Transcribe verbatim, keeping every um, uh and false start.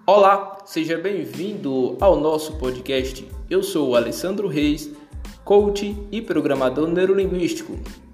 Olá, seja bem-vindo ao nosso podcast. Eu sou o Alessandro Reis, coach e programador neurolinguístico.